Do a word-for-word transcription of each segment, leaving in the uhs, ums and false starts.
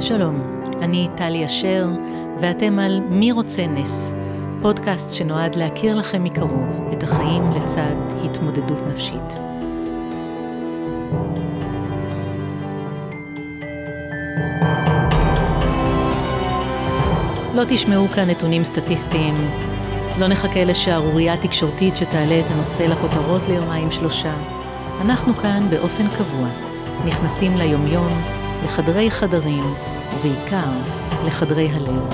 שלום, אני טלי אשר, ואתם על מי רוצה נס, פודקאסט שנועד להכיר לכם מקרוב את החיים לצד התמודדות נפשית. לא תשמעו כאן נתונים סטטיסטיים, לא נחכה לשערורייה תקשורתית שתעלה את הנושא לכותרות ליומיים שלושה. אנחנו כאן באופן קבוע, נכנסים ליומיום, לחדרי חדרים, ובעיקר לחדרי הלב.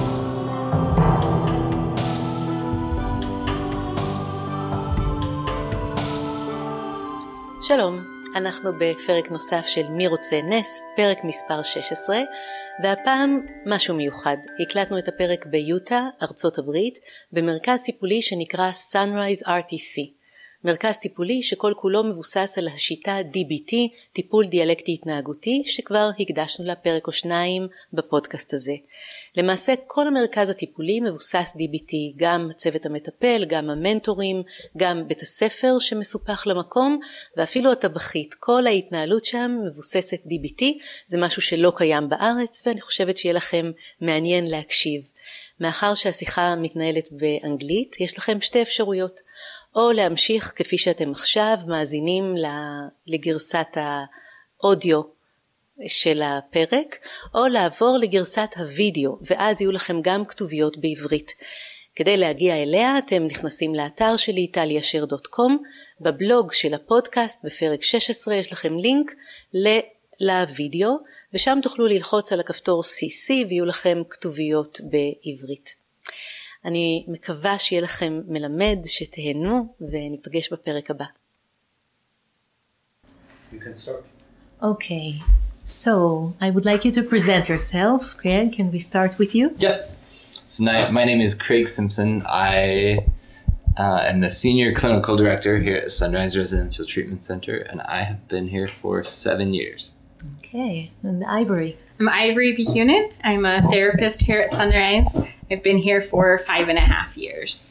שלום, אנחנו בפרק נוסף של מי רוצה נס, פרק מספר שש עשרה, והפעם משהו מיוחד. הקלטנו את הפרק ביוטה, ארצות הברית, במרכז טיפולי שנקרא Sunrise אר טי סי. מרכז טיפולי שכל כולו מבוסס על השיטה די בי טי, טיפול דיאלקטי התנהגותי, שכבר הקדשנו לה פרק או שניים בפודקאסט הזה. למעשה כל המרכז הטיפולי מבוסס די בי טי, גם הצוות המטפל, גם המנטורים, גם בית הספר שמסופח למקום, ואפילו הטבחית. כל ההתנהלות שם מבוססת די בי טי, זה משהו שלא קיים בארץ, ואני חושבת שיהיה לכם מעניין להקשיב. מאחר שהשיחה מתנהלת באנגלית, יש לכם שתי אפשרויות. או להמשיך כפי שאתם עכשיו מאזינים לגרסת האודיו של הפרק, או לעבור לגרסת הוידאו, ואז יהיו לכם גם כתוביות בעברית. כדי להגיע אליה אתם נכנסים לאתר שלי טלי אשר דוט קום, בבלוג של הפודקאסט בפרק שש עשרה יש לכם לינק לוידאו, ושם תוכלו ללחוץ על הכפתור סי סי ויהיו לכם כתוביות בעברית. אני מקווה שיהיה לכם מלמד, שתהנו, וניפגש בפרק הבא. You can start. Okay, so I would like you to present yourself. Craig, can we start with you? Yeah. So my name is Craig Simpson. I uh, am the Senior Clinical Director here at Sunrise Residential Treatment Center, and I have been here for seven years. Okay, and Ivory. I'm Ivory Behunin. I'm a therapist here at Sunrise. I've been here for five and a half years.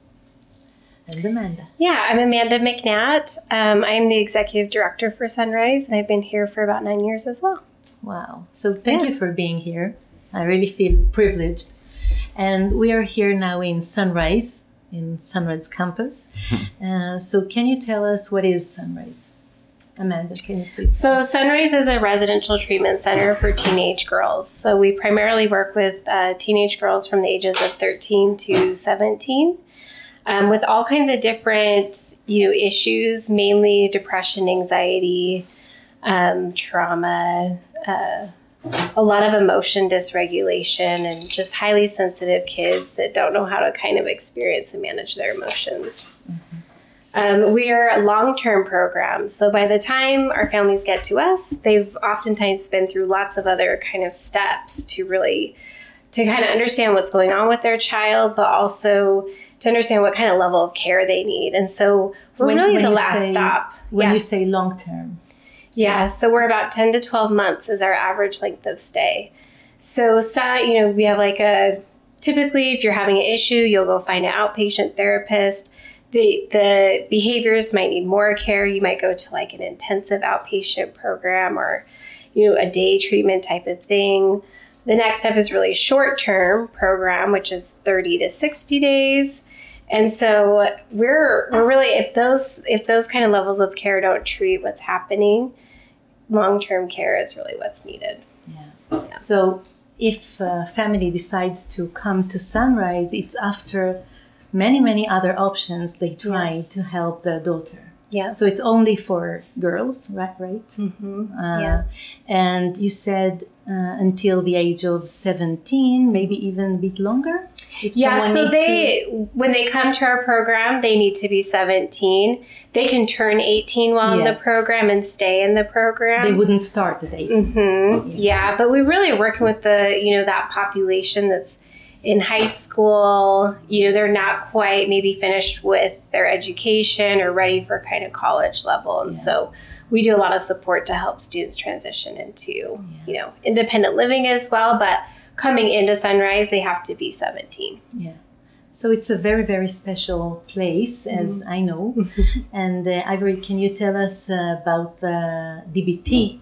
And Amanda. Yeah, I'm Amanda McNatt. Um, I'm the executive director for Sunrise, and I've been here for about nine years as well. Wow. So thank Yeah. you for being here. I really feel privileged. And we are here now in Sunrise, in Sunrise campus. uh, so can you tell us what is Sunrise? Amanda, can you please? So Sunrise is a residential treatment center for teenage girls. So we primarily work with uh, teenage girls from the ages of thirteen to seventeen um, with all kinds of different, you know, issues, mainly depression, anxiety, um, trauma, uh, a lot of emotion dysregulation, and just highly sensitive kids that don't know how to kind of experience and manage their emotions. Mm-hmm. Um, we are a long-term program, so by the time our families get to us, they've oftentimes been through lots of other kind of steps to really, to kind of understand what's going on with their child, but also to understand what kind of level of care they need. And so we're when, really when the last say, stop. When yeah. you say long-term. So. Yeah, so we're about ten to twelve months is our average length of stay. So, so, you know, we have like a, typically if you're having an issue, you'll go find an outpatient therapist. The the behaviors might need more care. You might go to like an intensive outpatient program or, you know, a day treatment type of thing. The next step is really short-term program, which is thirty to sixty days. And so we're we're really, if those if those kind of levels of care don't treat what's happening, long-term care is really what's needed. Yeah. yeah. So if a family decides to come to Sunrise, it's after many, many other options they try yeah. to help the daughter. Yeah. So it's only for girls, right? Right. Mm-hmm. Uh, yeah. And you said uh, until the age of seventeen, maybe even a bit longer. If yeah. So they, to... when they come to our program, they need to be seventeen. They can turn eighteen while yeah. in the program and stay in the program. They wouldn't start at eighteen. Mm-hmm. Yeah. yeah. But we really are working with the, you know, that population that's in high school, you know, they're not quite maybe finished with their education or ready for kind of college level. And yeah. so we do a lot of support to help students transition into, yeah. you know, independent living as well. But coming into Sunrise, they have to be seventeen. Yeah. So it's a very, very special place, as mm-hmm. I know. And uh, Ivory, can you tell us uh, about the D B T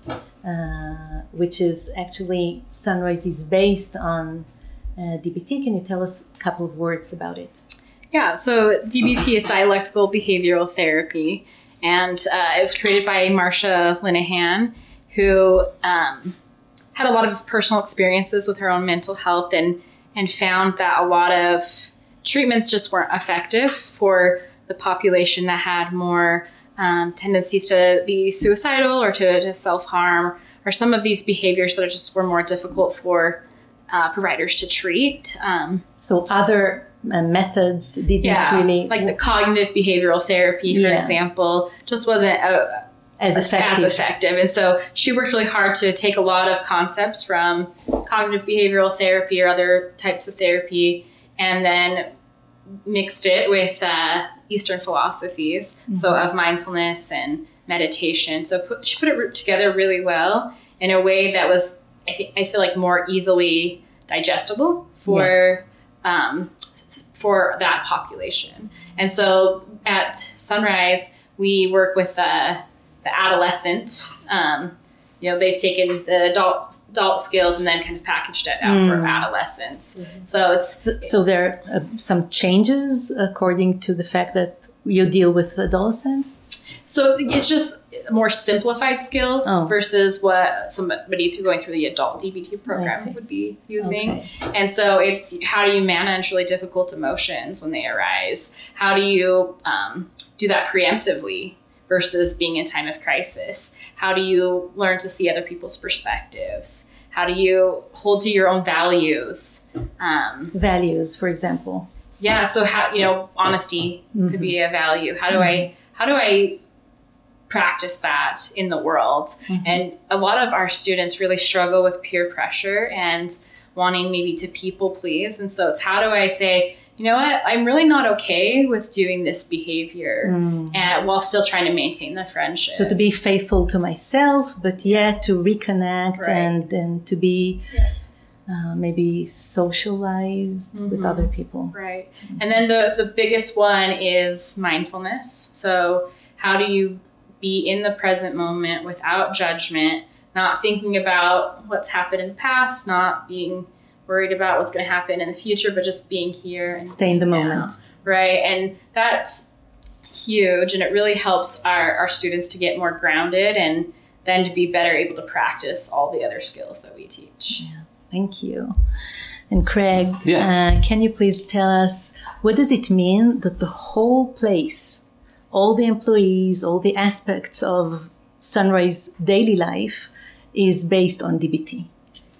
uh, which is actually Sunrise is based on uh, D B T. Can you tell us a couple of words about it? Yeah, so D B T is dialectical behavioral therapy, and uh, it was created by Marsha Linehan, who um, had a lot of personal experiences with her own mental health and and found that a lot of treatments just weren't effective for the population that had more um, tendencies to be suicidal or to, to self-harm, or some of these behaviors that just were more difficult for uh, providers to treat. Um, so other uh, methods didn't yeah, really... like the cognitive behavioral therapy, for Yeah. example, just wasn't a, as effective. as effective. And so she worked really hard to take a lot of concepts from cognitive behavioral therapy or other types of therapy and then mixed it with uh, Eastern philosophies, mm-hmm. so of mindfulness and meditation. So put, she put it together really well in a way that was, I, th- I feel like, more easily digestible for yeah. um, for that population. And so at Sunrise, we work with uh, the adolescent. Um, you know, they've taken the adult adult skills and then kind of packaged it out mm. for adolescents. Mm-hmm. So it's so there are uh, some changes according to the fact that you deal with adolescents. So it's just more simplified skills oh. versus what somebody through going through the adult D B T program would be using. Okay. And so it's how do you manage really difficult emotions when they arise? How do you um, do that preemptively versus being in time of crisis? How do you learn to see other people's perspectives? How do you hold to your own values? Um, values, for example. Yeah. So how, you know, honesty mm-hmm. could be a value. How do mm-hmm. I, how do I practice that in the world? Mm-hmm. And a lot of our students really struggle with peer pressure and wanting maybe to people please. And so it's how do I say, you know what, I'm really not okay with doing this behavior mm. and while still trying to maintain the friendship. So to be faithful to myself, but yet to reconnect right. and, and to be yeah. uh, maybe socialized mm-hmm. with other people. Right. Mm-hmm. And then the, the biggest one is mindfulness. So how do you be in the present moment without judgment, not thinking about what's happened in the past, not being worried about what's going to happen in the future, but just being here and stay in the moment. Right. And that's huge. And it really helps our, our students to get more grounded and then to be better able to practice all the other skills that we teach. Yeah. Thank you. And Craig, yeah. uh, can you please tell us, what does it mean that the whole place, all the employees, all the aspects of Sunrise daily life is based on D B T?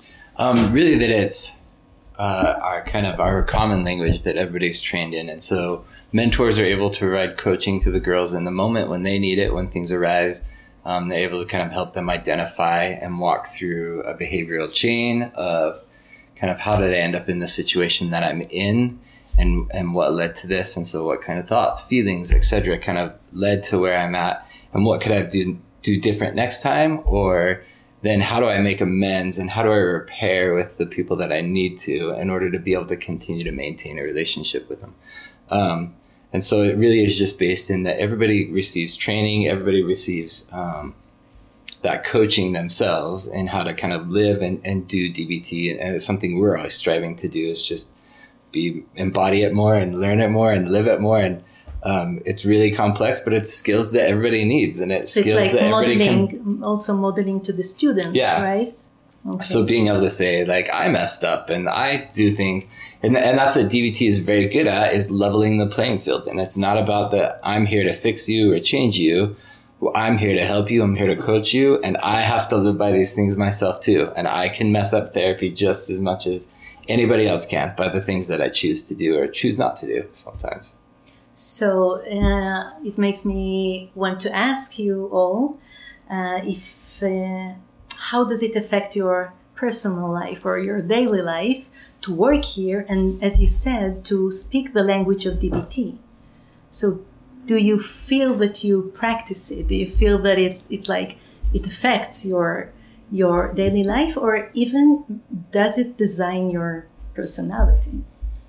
Um, really that it's uh, our kind of our common language that everybody's trained in. And so mentors are able to provide coaching to the girls in the moment when they need it, when things arise. Um, they're able to kind of help them identify and walk through a behavioral chain of kind of how did I end up in the situation that I'm in and, and what led to this. And so what kind of thoughts, feelings, et cetera, kind of led to where I'm at and what could I do, do different next time, or then how do I make amends and how do I repair with the people that I need to in order to be able to continue to maintain a relationship with them. Um, and so it really is just based in that everybody receives training, everybody receives um, that coaching themselves and how to kind of live and, and do D B T. And it's something we're always striving to do is just be embody it more and learn it more and live it more. And Um, it's really complex, but it's skills that everybody needs, and it's so skills it's like that everybody modeling, can. Also modeling to the students, yeah. right? Okay. So being able to say, like, I messed up and I do things, and and that's what D B T is very good at, is leveling the playing field. And it's not about the I'm here to fix you or change you. Well, I'm here to help you. I'm here to coach you, and I have to live by these things myself too. And I can mess up therapy just as much as anybody else can by the things that I choose to do or choose not to do sometimes. So uh, it makes me want to ask you all uh, if uh, how does it affect your personal life or your daily life to work here and, as you said, to speak the language of D B T? So do you feel that you practice it? Do you feel that it it like it affects your your daily life, or even does it design your personality?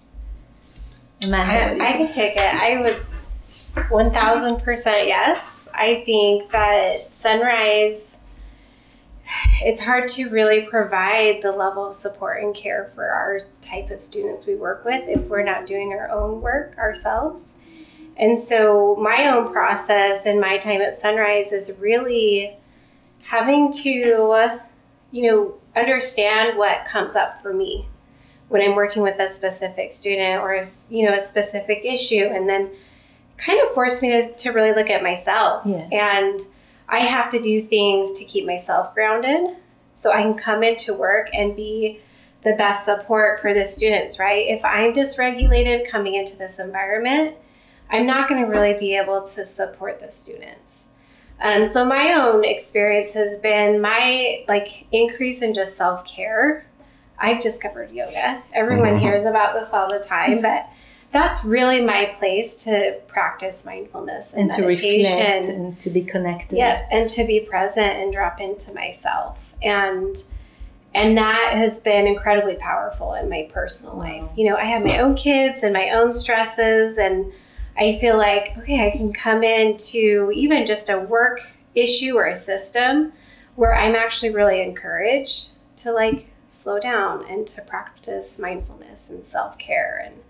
I, I can take it. I would one thousand percent yes. I think that Sunrise it's hard to really provide the level of support and care for our type of students we work with if we're not doing our own work ourselves. And so my own process and my time at Sunrise is really having to, you know, understand what comes up for me when I'm working with a specific student or, a, you know, a specific issue, and then kind of force me to, to really look at myself. Yeah. And I have to do things to keep myself grounded so I can come into work and be the best support for the students, right? If I'm dysregulated coming into this environment, I'm not going to really be able to support the students. Um, so my own experience has been my like increase in just self-care. I've discovered yoga. Everyone Mm-hmm. hears about this all the time, but that's really my place to practice mindfulness and, And to meditation. reflect and to be connected. Yeah, and to be present and drop into myself. And and that has been incredibly powerful in my personal life. You know, I have my own kids and my own stresses, and I feel like, okay, I can come into even just a work issue or a system where I'm actually really encouraged to like slow down and to practice mindfulness and self-care. And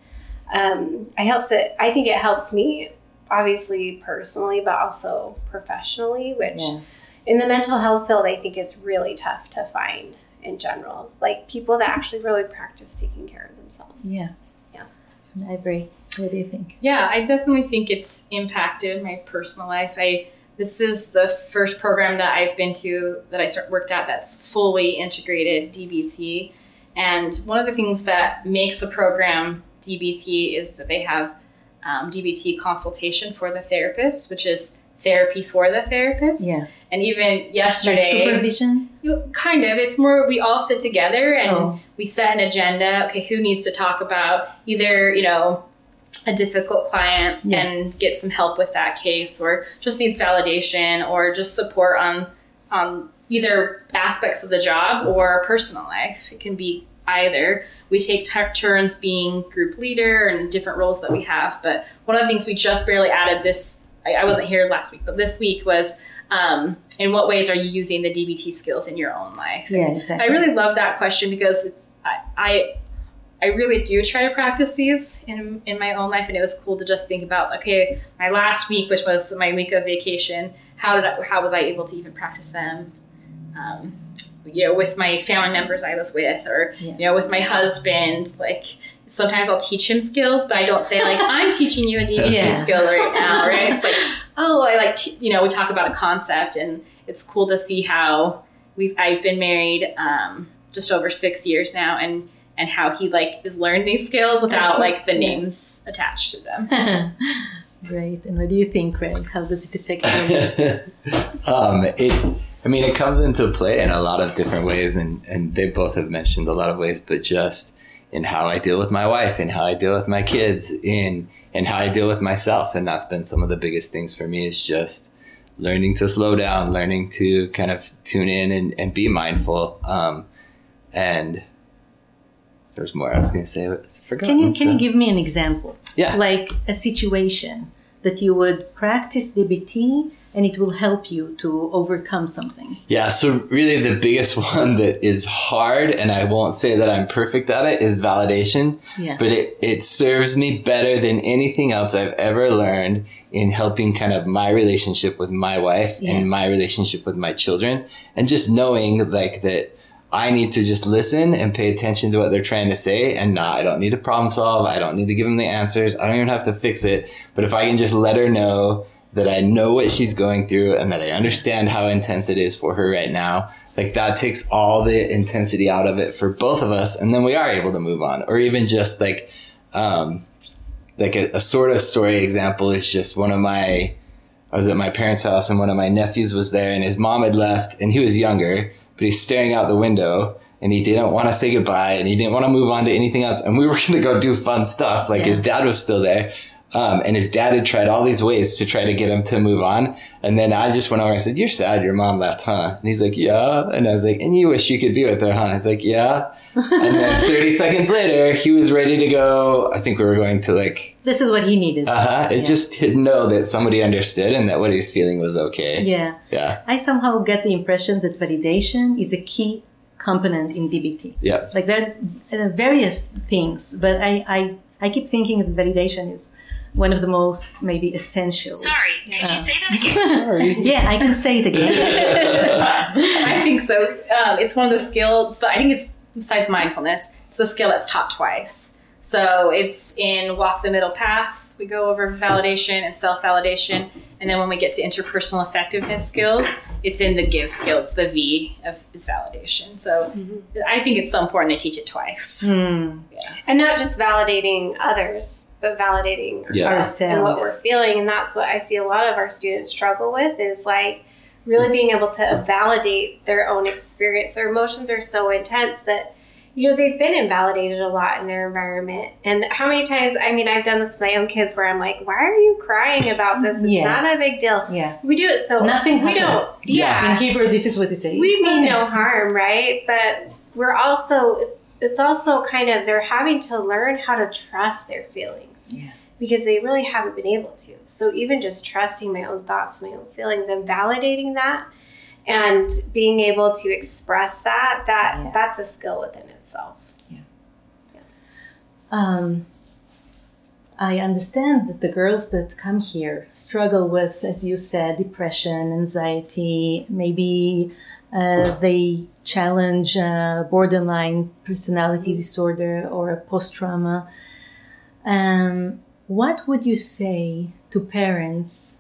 um, I helps it. I think it helps me obviously personally, but also professionally, which Yeah. in the mental health field, I think is really tough to find in general. Like people that actually really practice taking care of themselves. Yeah. Yeah. I agree. What do you think? Yeah, I definitely think it's impacted my personal life. I this is the first program that I've been to that I start, worked at that's fully integrated D B T. And one of the things that makes a program D B T is that they have um, D B T consultation for the therapist, which is therapy for the therapist. Yeah. And even Like yesterday, supervision? you- kind of, it's more we all sit together and Oh. we set an agenda. Okay, who needs to talk about either, you know, a difficult client Yeah. and get some help with that case, or just needs validation or just support on on either aspects of the job or personal life. It can be either. We take t- turns being group leader and different roles that we have. But one of the things we just barely added this, I, I wasn't here last week, but this week was um, in what ways are you using the D B T skills in your own life? Yeah, And exactly. I really love that question because I, I I really do try to practice these in in my own life, and it was cool to just think about, okay, my last week, which was my week of vacation, how did I, how was I able to even practice them? Um, you know, with my family members I was with, or Yeah. you know, with my husband. Like sometimes I'll teach him skills, but I don't say like I'm teaching you a D B T Yeah. skill right now, right? It's like, oh, I like t-, you know, we talk about a concept, and it's cool to see how we've I've been married um, just over six years now, and. and how he like has learned these skills without like the Yeah. names attached to them. Great. And what do you think, Craig? How does it affect you? um, it, I mean, it comes into play in a lot of different ways, and, and they both have mentioned a lot of ways, but just in how I deal with my wife, and how I deal with my kids, in and how I deal with myself. And that's been some of the biggest things for me, is just learning to slow down, learning to kind of tune in and, and be mindful. Um, and there's more I was going to say, but I forgot. Can you can so. you give me an example? Yeah. Like a situation that you would practice D B T and it will help you to overcome something. Yeah, so really the biggest one that is hard, and I won't say that I'm perfect at it, is validation. Yeah. But it, it serves me better than anything else I've ever learned in helping kind of my relationship with my wife Yeah. and my relationship with my children. And just knowing like that I need to just listen and pay attention to what they're trying to say, and not, I don't need to problem solve. I don't need to give them the answers. I don't even have to fix it. But if I can just let her know that I know what she's going through and that I understand how intense it is for her right now, like that takes all the intensity out of it for both of us. And then we are able to move on. Or even just like, um, like a, a sort of story example is just one of my, I was at my parents' house and one of my nephews was there, and his mom had left and he was younger, but he's staring out the window and he didn't want to say goodbye and he didn't want to move on to anything else. And we were going to go do fun stuff. Like Yeah. his dad was still there. Um, and his dad had tried all these ways to try to get him to move on. And then I just went over and said, "You're sad your mom left, huh?" And he's like, "Yeah." And I was like, "And you wish you could be with her, huh?" I was like, "Yeah." And then thirty seconds later, he was ready to go. I think we were going to like... This is what he needed. Uh-huh. It Yeah. just to know that somebody understood and that what he's feeling was okay. Yeah. Yeah. I somehow get the impression that validation is a key component in D B T. Yeah. Like that, uh, various things, but I, I, I keep thinking that validation is one of the most maybe essential. Sorry, could you say that again? Sorry. Yeah, I can say it again. I think so. Um, it's one of the skills that I think it's, besides mindfulness, it's a skill that's taught twice. So it's in Walk the Middle Path. We go over validation and self-validation. And then when we get to interpersonal effectiveness skills, it's in the give skill. It's the V of is validation. So I think it's so important they teach it twice. Hmm. And not just validating others, but validating Yeah. ourselves and what Ourselves. we're feeling. And that's what I see a lot of our students struggle with is like really being able to validate their own experience. Their emotions are so intense that, you know, they've been invalidated a lot in their environment. And how many times, I mean, I've done this with my own kids where I'm like, why are you crying about this? It's Yeah. not a big deal. Yeah. We do it so Nothing we happened. don't. Yeah. In Hebrew, this is what they say. We It's mean nothing. no harm, right? But we're also, it's also kind of, they're having to learn how to trust their feelings Yeah. because they really haven't been able to. So even just trusting my own thoughts, my own feelings, and validating that and being able to express that, that Yeah. that's a skill within itself. Um, I understand that the girls that come here struggle with, as you said, depression, anxiety, maybe uh, they challenge uh, borderline personality disorder or post-trauma. Um, what would you say to parents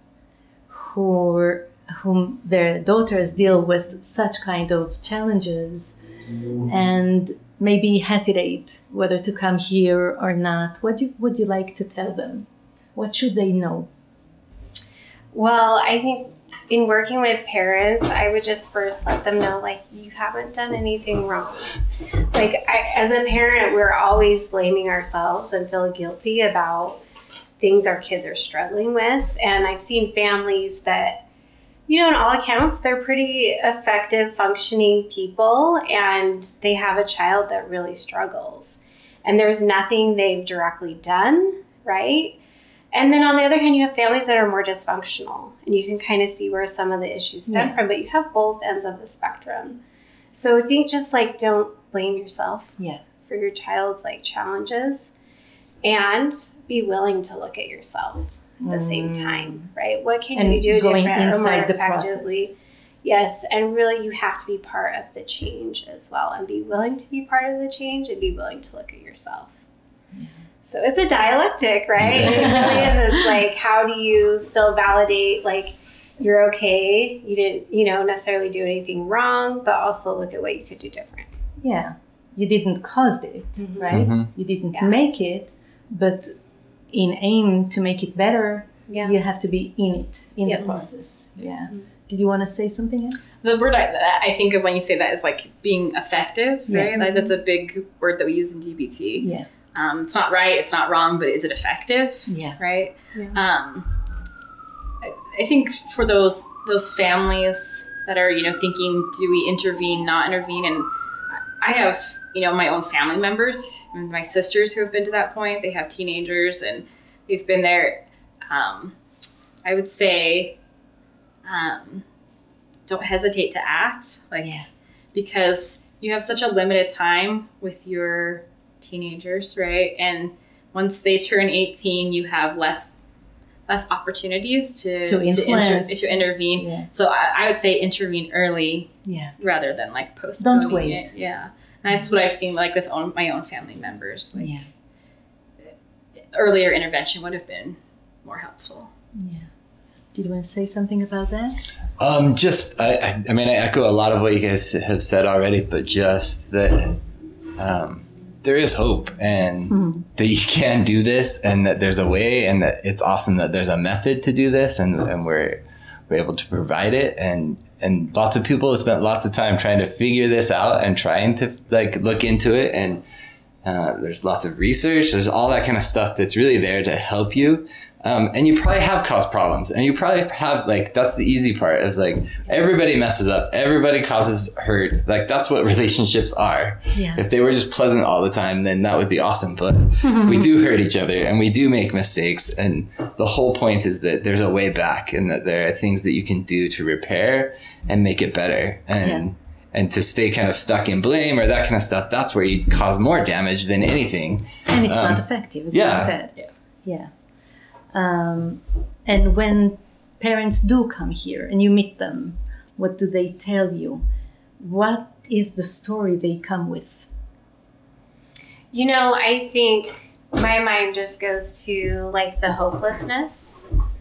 who, whom their daughters deal with such kind of challenges and maybe hesitate whether to come here or not? What you, would you like to tell them? What should they know? Well, I think in working with parents, I would just first let them know, like, you haven't done anything wrong. Like, I, as a parent, we're always blaming ourselves and feel guilty about things our kids are struggling with. And I've seen families that, you know, in all accounts, they're pretty effective, functioning people, and they have a child that really struggles. And there's nothing they've directly done, right? And then on the other hand, you have families that are more dysfunctional, and you can kind of see where some of the issues stem Yeah. from, but you have both ends of the spectrum. So I think just like don't blame yourself Yeah. for your child's like challenges, and be willing to look at yourself at the same time, right? What can And you do going different or inside more the effectively? process. Yes, and really you have to be part of the change as well, and be willing to be part of the change, and be willing to look at yourself. So it's a dialectic, right? It really is. It's like, how do you still validate, like, you're okay, you didn't, you know, necessarily do anything wrong, but also look at what you could do different. Yeah. You didn't cause it, right? Mhm. You didn't Yeah. make it, but in aim to make it better, Yeah. you have to be in it, in Yep. the process. Yeah. Did you want to say something else? The word I, that I think of when you say that is like being effective, right? Yeah. Like that's a big word that we use in D B T. Yeah. Um, it's not right, it's not wrong, but is it effective? Yeah. Right? Yeah. Um, I, I think for those those families that are, you know, thinking, do we intervene, not intervene? And I have, you know, my own family members, my sisters who have been to that point. They have teenagers and they've been there. Um, I would say, um, don't hesitate to act, like, Yeah. because you have such a limited time with your teenagers, right? And once they turn eighteen, you have less less opportunities to To to, inter- influence. to intervene. Yeah. So I, I would say intervene early Yeah. rather than like postponing Don't wait. it. Yeah, and that's what I've seen like with own, my own family members. Like Yeah. earlier intervention would have been more helpful. Yeah. Did you want to say something about that? Um, just, I, I, I mean, I echo a lot of what you guys have said already, but just that um, there is hope and Mhm. that you can do this and that there's a way and that it's awesome that there's a method to do this and, and we're, we're able to provide it. And, and lots of people have spent lots of time trying to figure this out and trying to like look into it. And uh, there's lots of research. There's all that kind of stuff that's really there to help you. Um, and you probably have caused problems, and you probably have, like, that's the easy part. It's like everybody messes up, everybody causes hurt. Like, that's what relationships are. Yeah. If they were just pleasant all the time, then that would be awesome. But we do hurt each other, and we do make mistakes. And the whole point is that there's a way back, and that there are things that you can do to repair and make it better. And yeah. and to stay kind of stuck in blame or that kind of stuff, that's where you cause more damage than anything. And it's um, not effective, as yeah. you said. Yeah. Yeah. Um, and when parents do come here and you meet them, what do they tell you? What is the story they come with? You know, I think my mind just goes to like the hopelessness.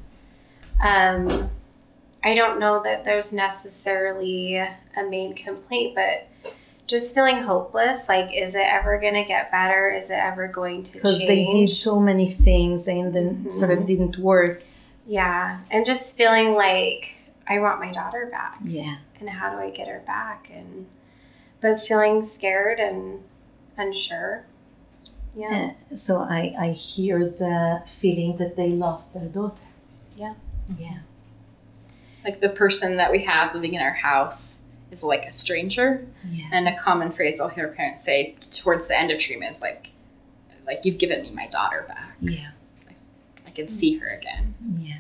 Um, I don't know that there's necessarily a main complaint, but just feeling hopeless. Like, is it ever going to get better? Is it ever going to change? Because they did so many things and then mm-hmm. sort of didn't work. Yeah. And just feeling like I want my daughter back. Yeah. And how do I get her back? And but feeling scared and unsure. Yeah. Uh, so I, I hear the feeling that they lost their daughter. Yeah. Yeah. Like the person that we have living in our house is like a stranger. Yeah. And a common phrase I'll hear parents say towards the end of treatment is like, like you've given me my daughter back. Yeah. Like, I can see her again. Yeah.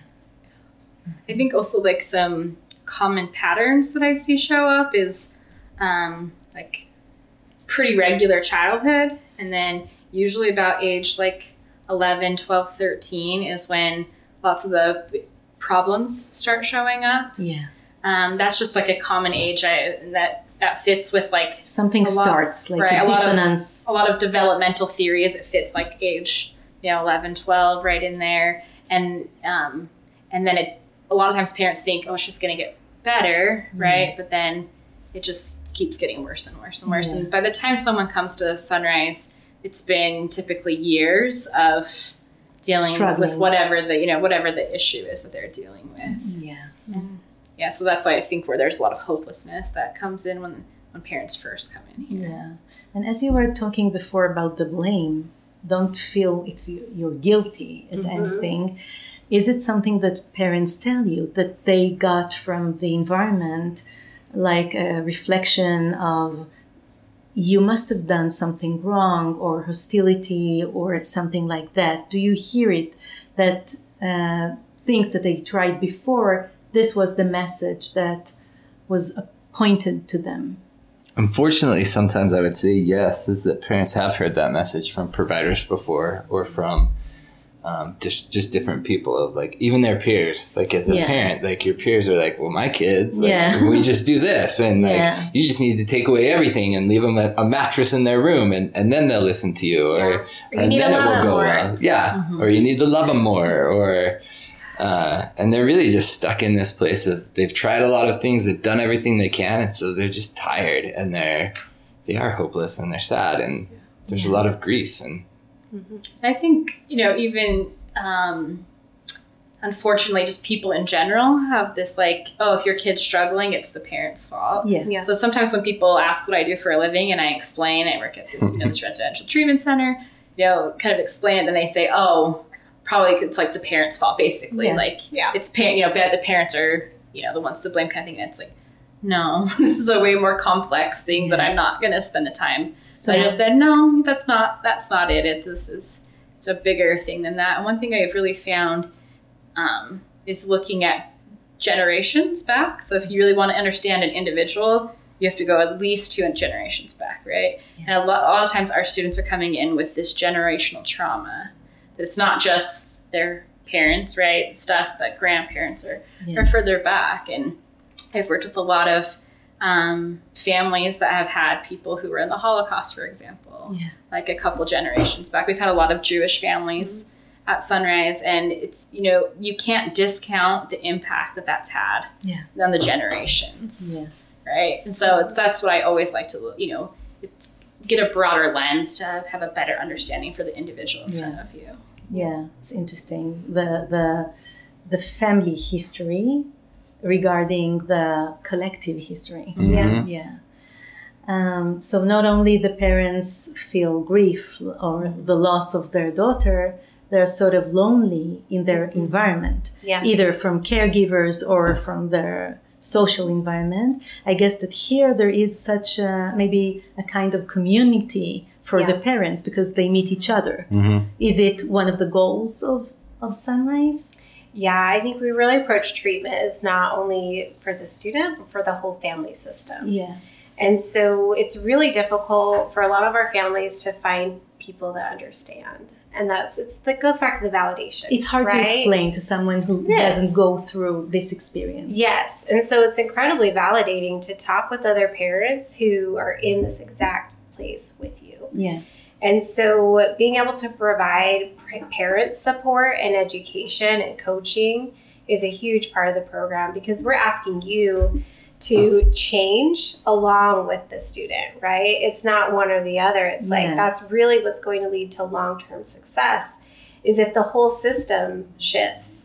I think also like some common patterns that I see show up is um, like pretty regular childhood. And then usually about age like eleven, twelve, thirteen is when lots of the problems start showing up. Yeah. Um, that's just like a common age I, that that fits with like something lot, starts like right, a a dissonance. Lot of, a lot of developmental theories. It fits like age, you know, eleven, twelve, right in there, and um, and then it. A lot of times parents think, oh, it's just going to get better, right? Mm. But then it just keeps getting worse and worse and worse. Yeah. And by the time someone comes to Sunrise, it's been typically years of dealing Struggling. with whatever the you know whatever the issue is that they're dealing with. Yeah. And, yeah, so that's why I think where there's a lot of hopelessness that comes in when when parents first come in here. Yeah, and as you were talking before about the blame, don't feel it's you're guilty at mm-hmm. anything. Is it something that parents tell you that they got from the environment, like a reflection of you must have done something wrong or hostility or something like that? Do you hear it that uh, things that they tried before, this was the message that was pointed to them? Unfortunately, sometimes I would say yes, is that parents have heard that message from providers before or from um, just just different people of like even their peers. Like as a yeah. parent, like your peers are like, well, my kids, like, yeah. we just do this. And like, yeah. you just need to take away everything and leave them a, a mattress in their room and, and then they'll listen to you. Or, yeah. or you and need then to it love will them go more. well. Yeah. Mm-hmm. Or you need to love them more. Or... Uh, and they're really just stuck in this place of they've tried a lot of things, they've done everything they can, and so they're just tired and they're they are hopeless and they're sad and there's yeah. a lot of grief. And mm-hmm. I think you know even um, unfortunately, just people in general have this like, oh, if your kid's struggling, it's the parent's fault. Yeah. yeah. So sometimes when people ask what I do for a living, and I explain, I work at this, you know, this residential treatment center, you know, kind of explain it, and they say, oh. Probably it's like the parents' fault, basically. Yeah. Like, yeah. it's parent, you know, bad. The parents are, you know, the ones to blame, kind of thing. And it's like, no, this is a way more complex thing yeah. that I'm not going to spend the time. So I just said, no, that's not, that's not it. It this is, it's a bigger thing than that. And one thing I've really found um, is looking at generations back. So if you really want to understand an individual, you have to go at least two generations back, right? Yeah. And a lot, a lot of times our students are coming in with this generational trauma. It's not just their parents, right, stuff, but grandparents are, yeah. are further back. And I've worked with a lot of um, families that have had people who were in the Holocaust, for example, yeah. like a couple generations back. We've had a lot of Jewish families mm-hmm. at Sunrise, and it's, you know, you can't discount the impact that that's had yeah. on the generations, yeah. right? And so it's, that's what I always like to, you know, it's, get a broader lens to have a better understanding for the individual in yeah. front of you. Yeah, it's interesting. The the the family history regarding the collective history. Mm-hmm. Yeah. Yeah. Um, so not only the parents feel grief or the loss of their daughter, they're sort of lonely in their environment, Yeah. either from caregivers or from their social environment. I guess that here there is such a, maybe a kind of community for Yeah. the parents because they meet each other. Mm-hmm. Is it one of the goals of, of Sunrise? Yeah, I think we really approach treatment as not only for the student, but for the whole family system. Yeah. And so it's really difficult for a lot of our families to find people that understand. And that's it's, that goes back to the validation. It's hard right? to explain to someone who Yes. doesn't go through this experience. Yes. And so it's incredibly validating to talk with other parents who are in this exact place with you. Yeah. And so being able to provide parent support and education and coaching is a huge part of the program because we're asking you to change along with the student, right? It's not one or the other. It's Yeah. like that's really what's going to lead to long-term success is if the whole system shifts.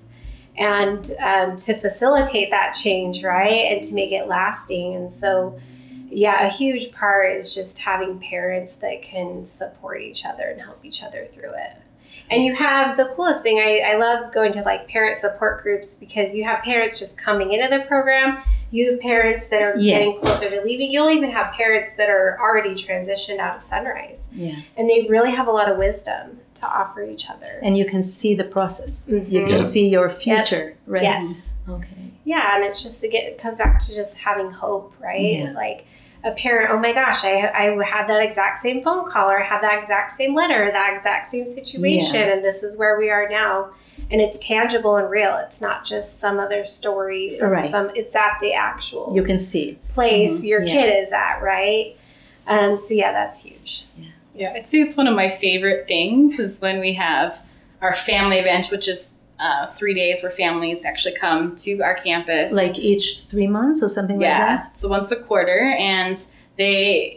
And um, to facilitate that change, right? And to make it lasting. And so yeah, a huge part is just having parents that can support each other and help each other through it. And you have the coolest thing, I, I love going to like parent support groups because you have parents just coming into the program. You have parents that are Yeah. getting closer to leaving. You'll even have parents that are already transitioned out of Sunrise. Yeah. And they really have a lot of wisdom to offer each other. And you can see the process. Mhm. You can Yeah. see your future, right? Yes. Okay. Yeah, and it's just to get, it comes back to just having hope, right? Yeah. Like a parent, oh my gosh, I I had that exact same phone call or I had that exact same letter, that exact same situation, Yeah. and this is where we are now. And it's tangible and real. It's not just some other story or Right. some. It's at the actual You can see it. place Mhm. your Yeah. kid is at, right? Um. So yeah, that's huge. Yeah, I'd say it's one of my favorite things is when we have our family event, which is uh, three days where families actually come to our campus. Like each three months or something like yeah, that? so once a quarter, and they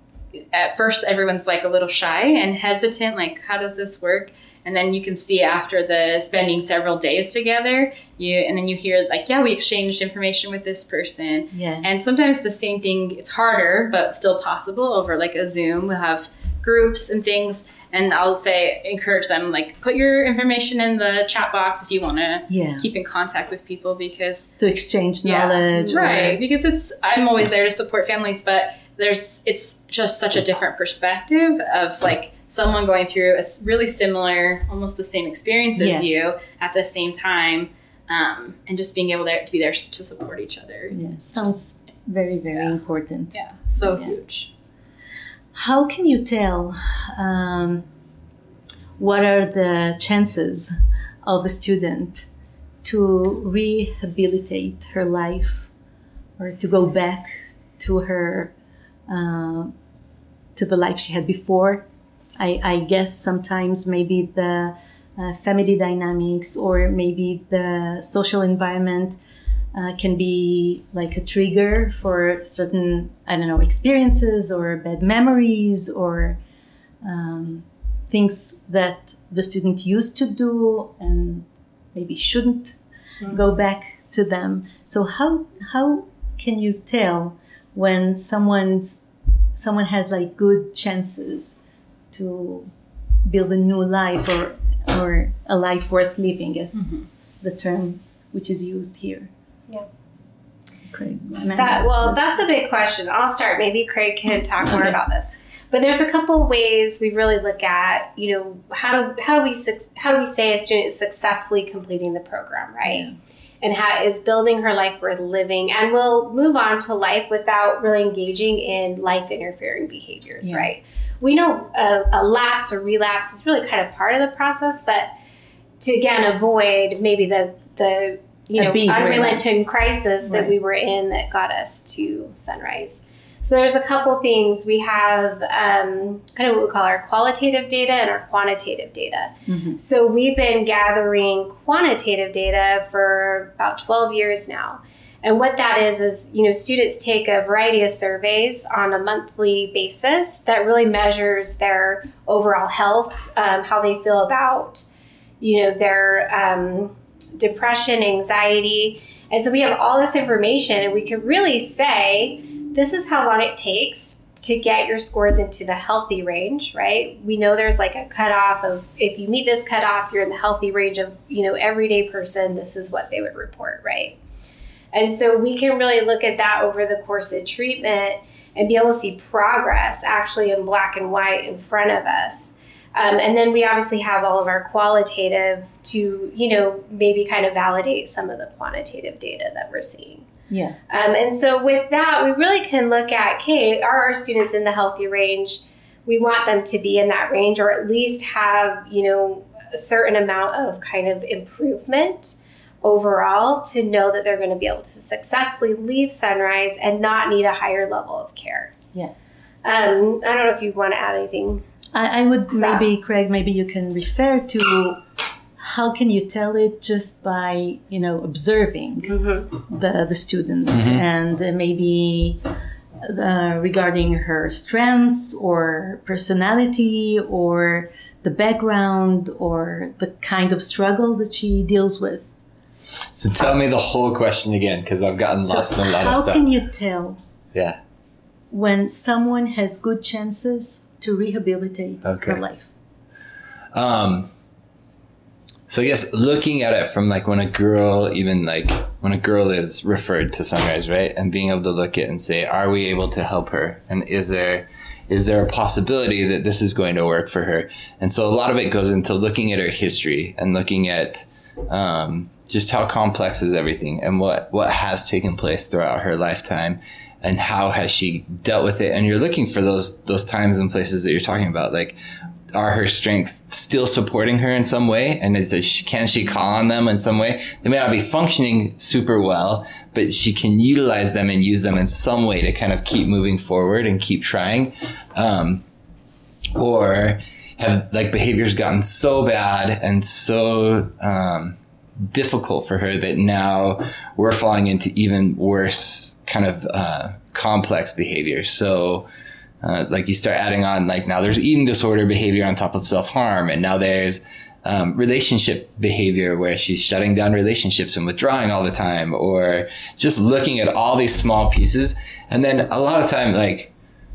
at first everyone's like a little shy and hesitant, like how does this work? And then you can see after the spending several days together, you and then you hear like, yeah, we exchanged information with this person. Yeah. And sometimes the same thing, it's harder, but still possible over like a Zoom. We'll have groups and things. And I'll say, encourage them, like put your information in the chat box if you want to Yeah. keep in contact with people because To exchange yeah, knowledge. or- right. Because it's, I'm always there to support families, but there's, it's just such a different perspective of like someone going through a s- really similar, almost the same experience as Yeah. you at the same time. Um, and just being able there to be there to support each other. Yeah. Sounds very, very yeah. important. Yeah. So Yeah. huge. How can you tell um, what are the chances of a student to rehabilitate her life or to go back to her uh, to the life she had before? I, I guess sometimes maybe the uh, family dynamics or maybe the social environment Uh, can be like a trigger for certain, I don't know, experiences or bad memories or um, things that the student used to do and maybe shouldn't Mm-hmm. go back to them. So how how can you tell when someone's someone has like good chances to build a new life or or a life worth living, is Mm-hmm. the term which is used here? Yeah. Craig. That, well, that's a big question. I'll start. Maybe Craig can talk more Okay. about this. But there's a couple ways we really look at, you know, how do how do we suc- how do we say a student is successfully completing the program, right? And how is building her life worth living, and will move on to life without really engaging in life interfering behaviors, Yeah. right? We know a, a lapse or relapse is really kind of part of the process, but to again avoid maybe the the you A know big unrelenting crisis that Right. we were in that got us to Sunrise. So there's a couple things. We have um, kind of what we call our qualitative data and our quantitative data. Mhm. So we've been gathering quantitative data for about twelve years now. And what that is, is, you know, students take a variety of surveys on a monthly basis that really measures their overall health, um, how they feel about, you know, their um, depression, anxiety. And so we have all this information and we can really say, this is how long it takes to get your scores into the healthy range, right? We know there's like a cutoff of, if you meet this cutoff, you're in the healthy range of, you know, everyday person, this is what they would report, right? And so we can really look at that over the course of treatment and be able to see progress actually in black and white in front of us. Um, and then we obviously have all of our qualitative to, you know, maybe kind of validate some of the quantitative data that we're seeing. Yeah. Um, and so with that, we really can look at, okay, are our students in the healthy range? We want them to be in that range, or at least have, you know, a certain amount of kind of improvement overall to know that they're going to be able to successfully leave Sunrise and not need a higher level of care. Yeah. Um, I don't know if you want to add anything. I, I would maybe, Craig, maybe you can refer to how can you tell it just by, you know, observing mm-hmm. the, the student mm-hmm. and uh, maybe uh, regarding her strengths or personality or the background or the kind of struggle that she deals with. So tell me the whole question again, because I've gotten so lost in a lot of stuff. How can you tell yeah. when someone has good chances to rehabilitate okay. her life? Um, so I guess looking at it from like when a girl, even like when a girl is referred to Sunrise, right? And being able to look at it and say, are we able to help her? And is there is there a possibility that this is going to work for her? And so a lot of it goes into looking at her history and looking at um, just how complex is everything and what, what has taken place throughout her lifetime and how has she dealt with it. And you're looking for those those times and places that you're talking about, like, are her strengths still supporting her in some way? And is it, can she call on them in some way? They may not be functioning super well, but she can utilize them and use them in some way to kind of keep moving forward and keep trying. Um, or have like behaviors gotten so bad and so um, difficult for her that now we're falling into even worse kind of uh, complex behaviors. So Uh, like you start adding on, like now there's eating disorder behavior on top of self-harm. And now there's um, relationship behavior where she's shutting down relationships and withdrawing all the time, or just looking at all these small pieces. And then a lot of time, like,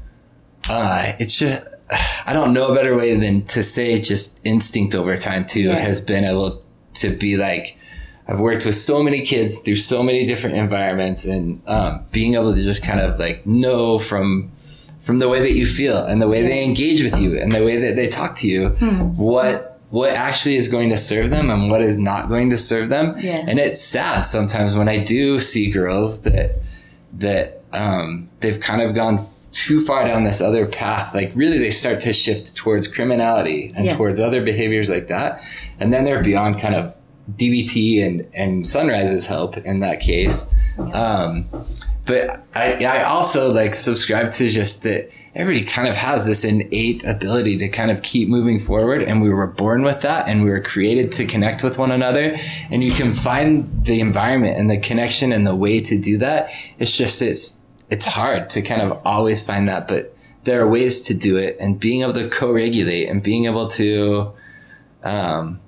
uh, it's just, I don't know a better way than to say just instinct over time too, yeah. has been able to be like, I've worked with so many kids through so many different environments, and um, being able to just kind of like know from from the way that you feel and the way they engage with you and the way that they talk to you, hmm. what what actually is going to serve them and what is not going to serve them. Yeah. And it's sad sometimes when I do see girls that that um, they've kind of gone too far down this other path. Like really they start to shift towards criminality and yeah. towards other behaviors like that. And then they're beyond kind of D B T and, and Sunrise's help in that case. Um, But I, I also like subscribe to just that everybody kind of has this innate ability to kind of keep moving forward. And we were born with that, and we were created to connect with one another. And you can find the environment and the connection and the way to do that. It's just, it's, it's hard to kind of always find that, but there are ways to do it, and being able to co-regulate and being able to, um,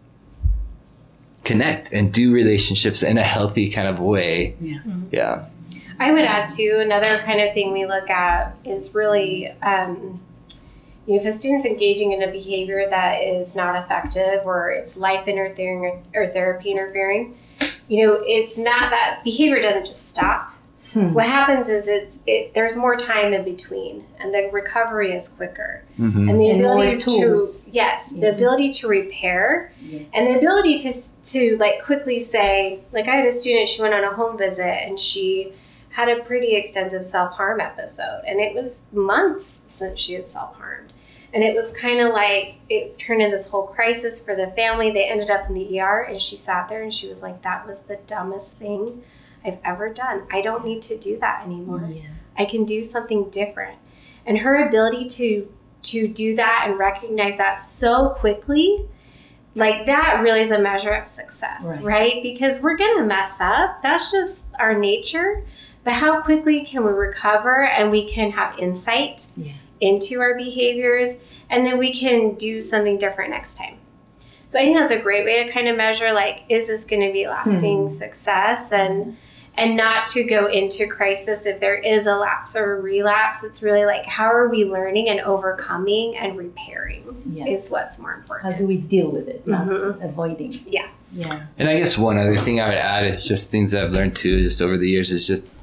connect and do relationships in a healthy kind of way. Yeah. Yeah. I would add too, another kind of thing we look at is really, um, you know, if a student's engaging in a behavior that is not effective or it's life interfering or, or therapy interfering, you know, it's not that behavior doesn't just stop. Hmm. What happens is it's, it, there's more time in between, and the recovery is quicker. Mm-hmm. And the and ability to, yes, yeah. the ability to repair yeah. and the ability to, to like quickly say, like I had a student, she went on a home visit and she had a pretty extensive self-harm episode, and it was months since she had self-harmed. And it was kind of like, it turned into this whole crisis for the family. They ended up in the E R, and she sat there and she was like, that was the dumbest thing I've ever done. I don't need to do that anymore. Yeah. I can do something different. And her ability to to do that and recognize that so quickly, like that really is a measure of success, right? right? Because we're going to mess up. That's just our nature. But how quickly can we recover, and we can have insight yeah. into our behaviors, and then we can do something different next time. So I think that's a great way to kind of measure, like, is this going to be lasting hmm. success? And and not to go into crisis if there is a lapse or a relapse. It's really like, how are we learning and overcoming and repairing Yeah. is what's more important. How do we deal with it, not Mhm. avoiding? Yeah. Yeah. And I guess one other thing I would add is just things that I've learned too, just over the years, is just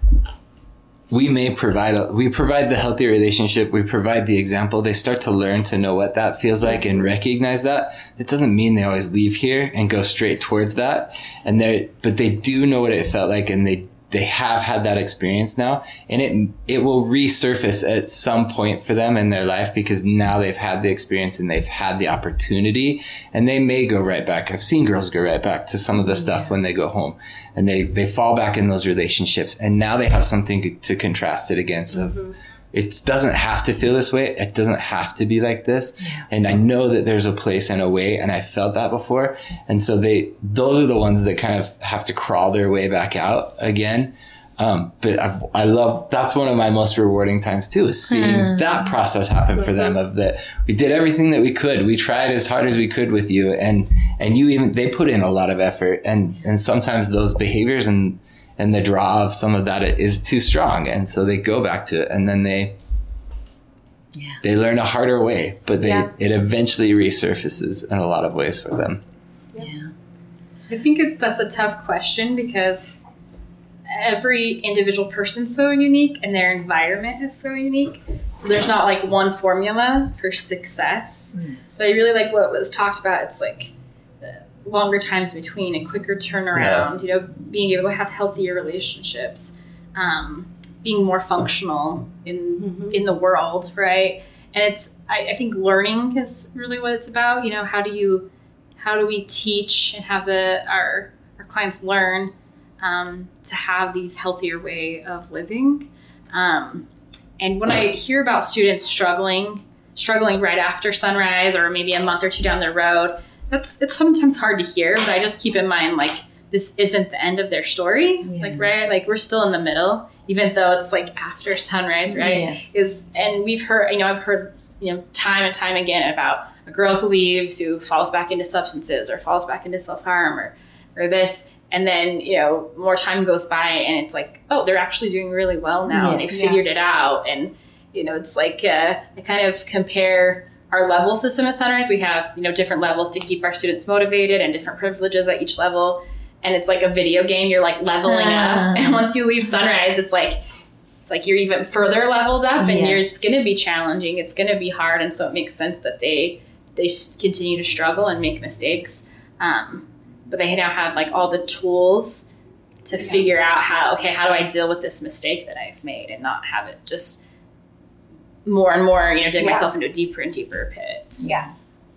we may provide a, we provide the healthy relationship, we provide the example. They start to learn to know what that feels like and recognize that. It doesn't mean they always leave here and go straight towards that. And they but they do know what it felt like, and they they have had that experience now, and it it will resurface at some point for them in their life, because now they've had the experience and they've had the opportunity, and they may go right back. I've seen girls go right back to some of the stuff yeah. when they go home, and they, they fall back in those relationships, and now they have something to contrast it against. Of, mm-hmm. It doesn't have to feel this way. It doesn't have to be like this. Yeah. And I know that there's a place and a way, and I felt that before. And so they, those are the ones that kind of have to crawl their way back out again. Um, but I've, I love, that's one of my most rewarding times too, is seeing mm. that process happen for them, of that we did everything that we could. We tried as hard as we could with you, and, and you even, they put in a lot of effort, and, and sometimes those behaviors and, and the draw of some of that is too strong. And so they go back to it, and then they, yeah. they learn a harder way, but they, yeah. it eventually resurfaces in a lot of ways for them. Yeah. I think it, that's a tough question, because every individual person's so unique and their environment is so unique. So there's not like one formula for success. Mm. So I really like what was talked about. It's like longer times between, a quicker turnaround, yeah. you know, being able to have healthier relationships, um, being more functional in mm-hmm. in the world, right? And it's, I, I think learning is really what it's about. You know, how do you, how do we teach and have the our our clients learn um, to have these healthier way of living? Um, and when I hear about students struggling, struggling right after sunrise, or maybe a month or two down the road, that's, it's sometimes hard to hear, but I just keep in mind, like, this isn't the end of their story. Yeah. Like, right? Like, we're still in the middle, even though it's like after sunrise, right? Yeah. Is, and we've heard, you know, I've heard, you know, time and time again about a girl who leaves, who falls back into substances or falls back into self-harm or, or this. And then, you know, more time goes by and it's like, oh, they're actually doing really well now. Yeah. And they figured yeah. it out. And, you know, it's like, uh, I kind of compare our level system at Sunrise. We have, you know, different levels to keep our students motivated and different privileges at each level. And it's like a video game. You're like leveling uh, up. And once you leave Sunrise, it's like, it's like you're even further leveled up, and yeah. you're, it's going to be challenging. It's going to be hard. And so it makes sense that they, they continue to struggle and make mistakes. Um, but they now have like all the tools to yeah. figure out how, okay, how do I deal with this mistake that I've made and not have it just more and more, you know, dig yeah. myself into a deeper and deeper pit. Yeah.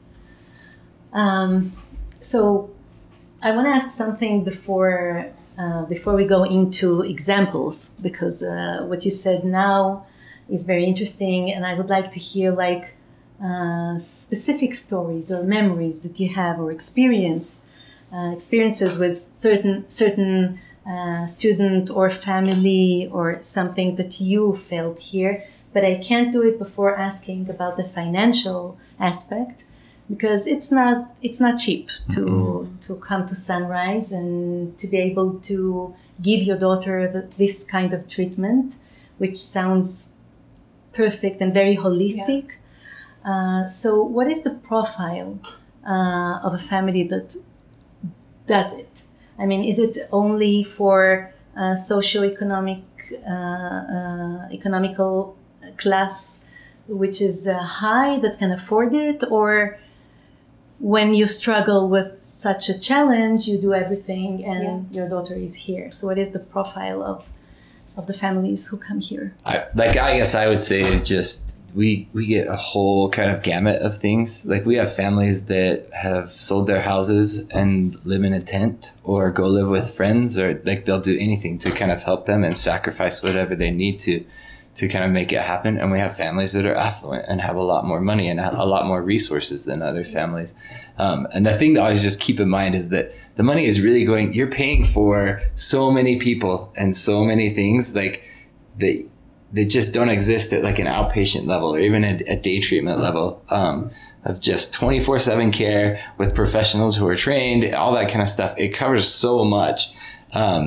Um, so I want to ask something before uh, before we go into examples, because uh, what you said now is very interesting, and I would like to hear like uh, specific stories or memories that you have, or experience uh, experiences with certain certain uh, student or family, or something that you felt here. But I can't do it before asking about the financial aspect, because it's not it's not cheap to mm-hmm. to come to Sunrise and to be able to give your daughter the, this kind of treatment, which sounds perfect and very holistic. Yeah. Uh, so what is the profile uh, of a family that does it? I mean, is it only for uh, socioeconomic uh, uh, economical class which is uh, high that can afford it, or when you struggle with such a challenge, you do everything and yeah. your daughter is here? So what is the profile of of the families who come here? I, like, I guess I would say just we we get a whole kind of gamut of things. Like, we have families that have sold their houses and live in a tent, or go live with friends, or like they'll do anything to kind of help them and sacrifice whatever they need to to kind of make it happen. And we have families that are affluent and have a lot more money and a lot more resources than other families. Um, and the thing that I always just keep in mind is that the money is really going, you're paying for so many people and so many things like that, that just don't exist at like an outpatient level, or even a, a day treatment level, um, of just twenty-four seven care with professionals who are trained, all that kind of stuff. It covers so much. Um,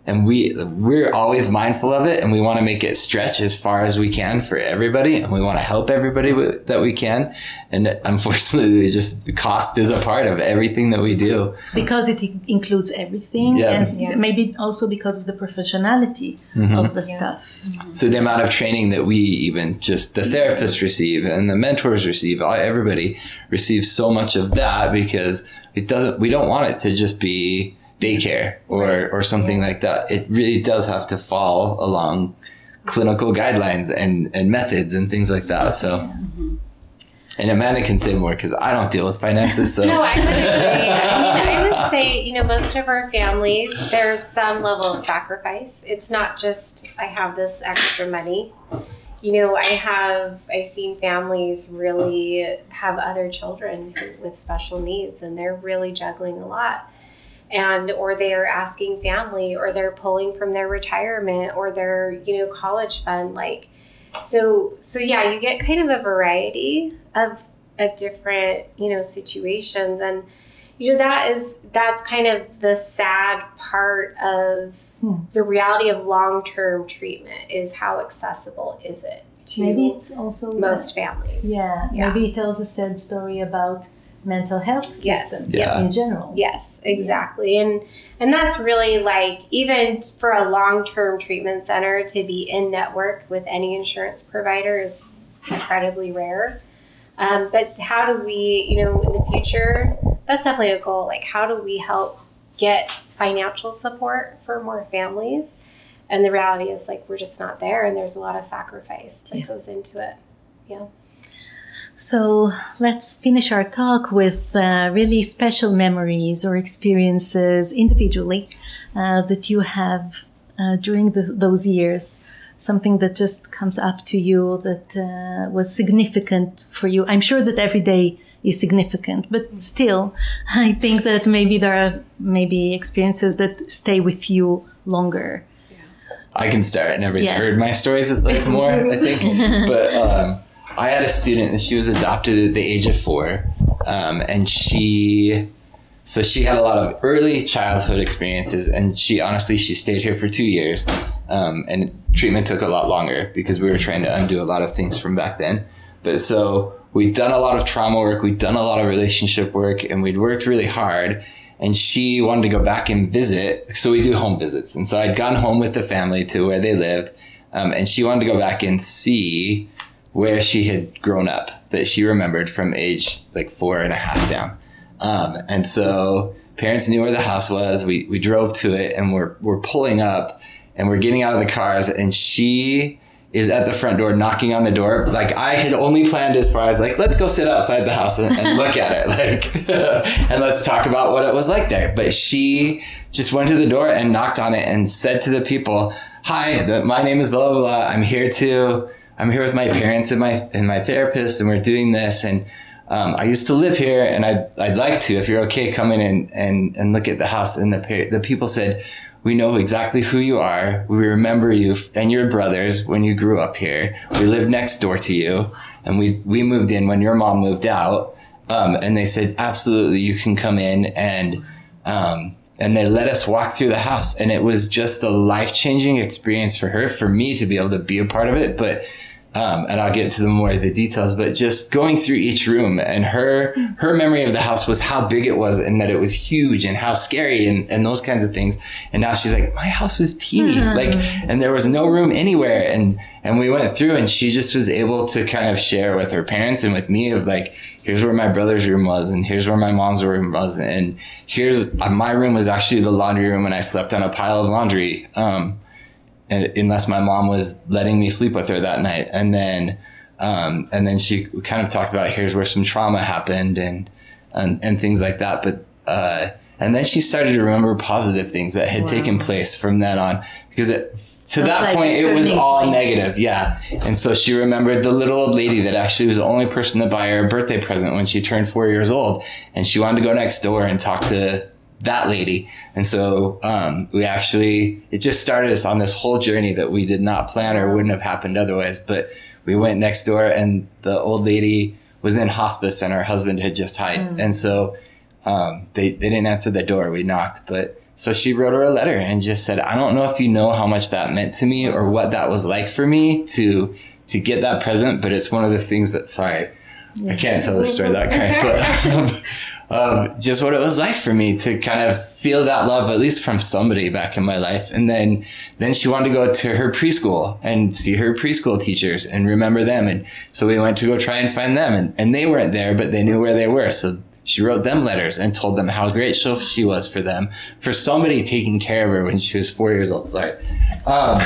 And we, we're always mindful of it, and we want to make it stretch as far as we can for everybody, and we want to help everybody with, that we can. And unfortunately, just cost is a part of everything that we do. Because it includes everything, Yeah. and Yeah. maybe also because of the professionality Mm-hmm. of the Yeah. stuff. So the amount of training that we even just the therapists receive and the mentors receive, all- everybody receives so much of that, because it doesn't, we don't want it to just be daycare or, or something like that. It really does have to fall along clinical guidelines and, and methods and things like that. So, and Amanda can say more because I don't deal with finances. So No, I would agree. I mean, I would say, you know, most of our families, there's some level of sacrifice. It's not just, I have this extra money. You know, I have, I've seen families really have other children who, with special needs, and they're really juggling a lot. And, or they are asking family, or they're pulling from their retirement or their, you know, college fund. Like, so, so yeah, you get kind of a variety of, of different, you know, situations. And, you know, that is, that's kind of the sad part of Hmm. the reality of long-term treatment, is how accessible is it to Maybe it's also most families. Yeah, Yeah. maybe it tells a sad story about mental health Yes. system Yeah. in general. Yes, exactly. And and that's really, like, even for a long-term treatment center to be in network with any insurance provider is incredibly rare. Um, but how do we, you know, in the future, that's definitely a goal. Like, how do we help get financial support for more families? And the reality is, like, we're just not there, and there's a lot of sacrifice that Yeah. goes into it. Yeah. So let's finish our talk with uh, really special memories or experiences individually uh, that you have uh, during the, those years. Something that just comes up to you that uh, was significant for you. I'm sure that every day is significant, but still, I think that maybe there are maybe experiences that stay with you longer. I can start, and everybody's Yeah. heard my stories like more, I think. But um, I had a student, and she was adopted at the age of four, um, and she, so she had a lot of early childhood experiences, and she honestly she stayed here for two years, um, and treatment took a lot longer because we were trying to undo a lot of things from back then. But so we'd done a lot of trauma work, we'd done a lot of relationship work, and we'd worked really hard. And she wanted to go back and visit. So we do home visits. And so I'd gone home with the family to where they lived. Um, and she wanted to go back and see where she had grown up, that she remembered from age like four and a half down. Um, and so parents knew where the house was. We, we drove to it, and we're, we're pulling up, and we're getting out of the cars, and she is at the front door knocking on the door. Like, I had only planned as far as like, let's go sit outside the house and, and look at it. Like, and let's talk about what it was like there. But she just went to the door and knocked on it and said to the people, hi, the, my name is blah, blah, blah. I'm here to, I'm here with my parents and my, and my therapist, and we're doing this. And, um, I used to live here, and I'd, I'd like to, if you're okay, come in and, and, and look at the house. And the, the people said, we know exactly who you are. We remember you and your brothers when you grew up here. We lived next door to you, and we, we moved in when your mom moved out. Um, and they said, absolutely, you can come in. And, um, and they let us walk through the house. And it was just a life-changing experience for her, for me to be able to be a part of it. But, um, and I'll get to the more of the details, but just going through each room, and her, her memory of the house was how big it was, and that it was huge, and how scary, and, and those kinds of things. And now she's like, my house was teeny, mm-hmm. like, and there was no room anywhere. And, and we went through, and she just was able to kind of share with her parents and with me of like, here's where my brother's room was, and here's where my mom's room was. And here's, uh, my room was actually the laundry room, and I slept on a pile of laundry. Um, And unless my mom was letting me sleep with her that night. And then, um, and then she kind of talked about, here's where some trauma happened, and, and, and things like that. But, uh, and then she started to remember positive things that had wow. taken place from then on, because it, to That's that like point, it was all point. negative. Yeah. And so she remembered the little old lady that actually was the only person to buy her a birthday present when she turned four years old. And she wanted to go next door and talk to that lady. And so, um, we actually, it just started us on this whole journey that we did not plan or wouldn't have happened otherwise. But we went next door, and the old lady was in hospice, and her husband had just died. Mm. And so, um, they, they didn't answer the door. We knocked, but so she wrote her a letter and just said, I don't know if you know how much that meant to me or what that was like for me to to get that present, but it's one of the things that, sorry, I can't tell the story that correct, but um, um, just what it was like for me to kind of feel that love, at least from somebody back in my life. And then, then she wanted to go to her preschool and see her preschool teachers and remember them. And so we went to go try and find them, and, and they weren't there, but they knew where they were. So she wrote them letters and told them how great she was for them, for somebody taking care of her when she was four years old. Sorry. Um,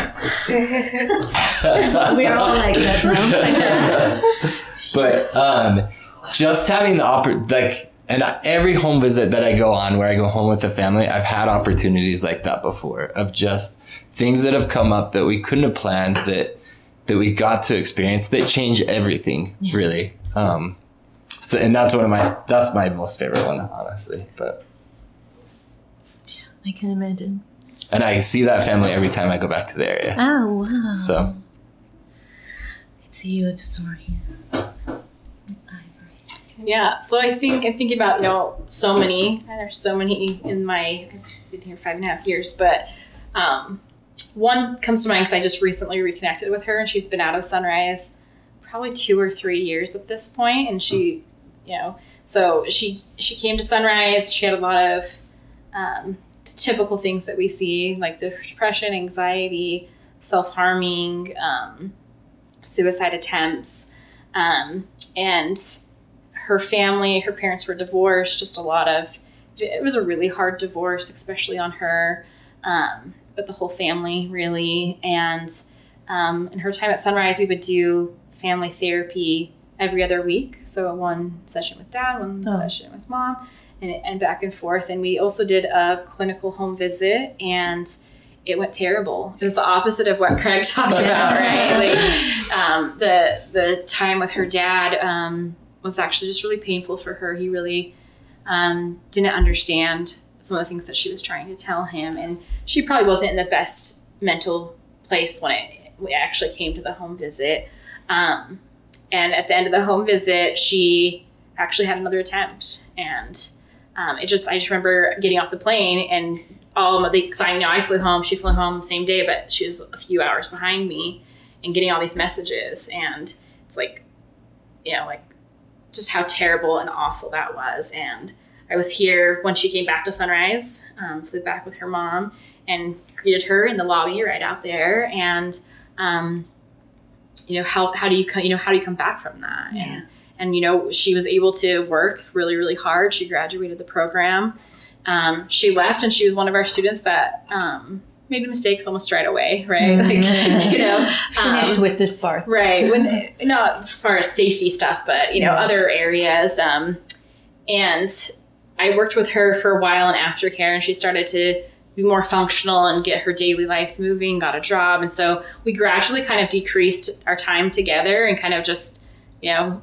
We're all like that now. But um, just having the oppor- like, and every home visit that I go on where I go home with the family, I've had opportunities like that before, of just things that have come up that we couldn't have planned, that that we got to experience, that change everything, yeah. really. Um, so, and that's one of my, that's my most favorite one, honestly. But I can imagine. And I see that family every time I go back to the area. Oh, wow. So it's a huge story. Yeah, so I think I'm thinking about, you know, so many, and there's so many in my, I've been here five and a half years, but um, one comes to mind because I just recently reconnected with her, and she's been out of Sunrise probably two or three years at this point, and she, you know, so she she came to Sunrise. She had a lot of um, the typical things that we see, like the depression, anxiety, self-harming, um, suicide attempts, um, and her family, her parents were divorced, just a lot of, it was a really hard divorce, especially on her, um, but the whole family really. And um, in her time at Sunrise, we would do family therapy every other week. So one session with dad, one oh. session with mom, and, and back and forth. And we also did a clinical home visit, and it went terrible. It was the opposite of what Craig talked about, right? Like um, the the time with her dad, um, was actually just really painful for her. He really um, didn't understand some of the things that she was trying to tell him. And she probably wasn't in the best mental place when it, we actually came to the home visit. Um, and at the end of the home visit, she actually had another attempt. And um, it just, I just remember getting off the plane and all of the, because I know I flew home, she flew home the same day, but she was a few hours behind me, and getting all these messages. And it's like, you know, like, just how terrible and awful that was. And I was here when she came back to Sunrise, um, flew back with her mom, and greeted her in the lobby right out there. And, um, you know, how, how do you, you know, how do you come back from that? Yeah. And, and, you know, she was able to work really, really hard. She graduated the program. Um, she left, and she was one of our students that, um, made mistakes almost right away, right? Like, you know, finished um, with this part, right? When not as far as safety stuff, but you know, yeah. other areas. Um, and I worked with her for a while in aftercare, and she started to be more functional and get her daily life moving. Got a job, and so we gradually kind of decreased our time together, and kind of just, you know.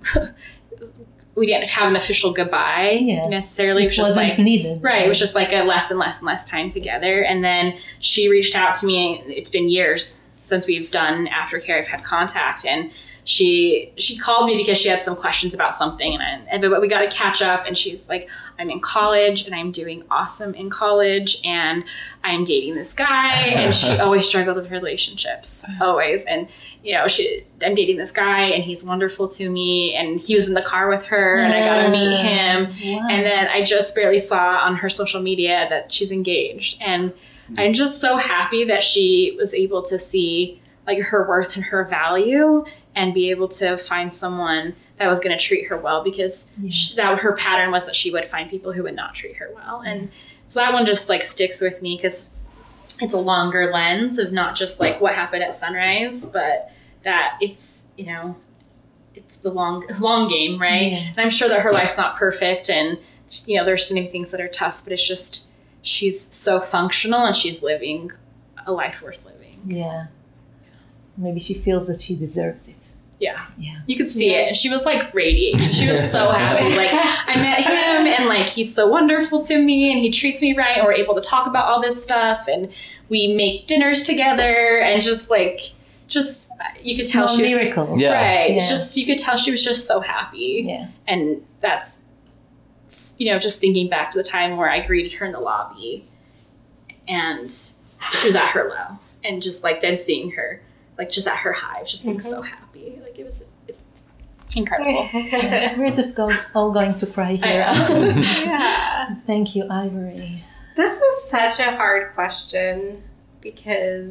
We didn't have an official goodbye yeah. necessarily. It was just like needed. Right. It was just like a less and less and less time together. And then she reached out to me. It's been years since we've done aftercare. I've had contact, and she she called me because she had some questions about something, and, I, and but we got to catch up. And she's like, I'm in college, and I'm doing awesome in college, and I'm dating this guy. And she always struggled with relationships, always. And you know, she I'm dating this guy, and he's wonderful to me. And he was in the car with her, and I got to meet him. Wow. And then I just barely saw on her social media that she's engaged, and mm-hmm. I'm just so happy that she was able to see like her worth and her value, and be able to find someone that was going to treat her well, because yeah. she, that her pattern was that she would find people who would not treat her well. And yeah. so that one just like sticks with me, because it's a longer lens of not just like what happened at Sunrise, but that it's, you know, it's the long, long game, right? Yes. And I'm sure that her life's not perfect, and, you know, there's going to be things that are tough, but it's just, she's so functional, and she's living a life worth living. Yeah. Maybe she feels that she deserves it. Yeah. Yeah. You could see yeah. it. And she was like radiating. She was so happy. Like, I met him, and like, he's so wonderful to me, and he treats me right. And we're able to talk about all this stuff, and we make dinners together, and just like, just, you could Small tell she was, miracles. Yeah. right. Yeah. It's just, you could tell she was just so happy. Yeah. And that's, you know, just thinking back to the time where I greeted her in the lobby, and she was at her low, and just like then seeing her like just at her high, just being mm-hmm. so happy, like it was it's incredible. Yeah, we're just go, all going to cry here. Yeah. Thank you, Ivory. This is such a hard question because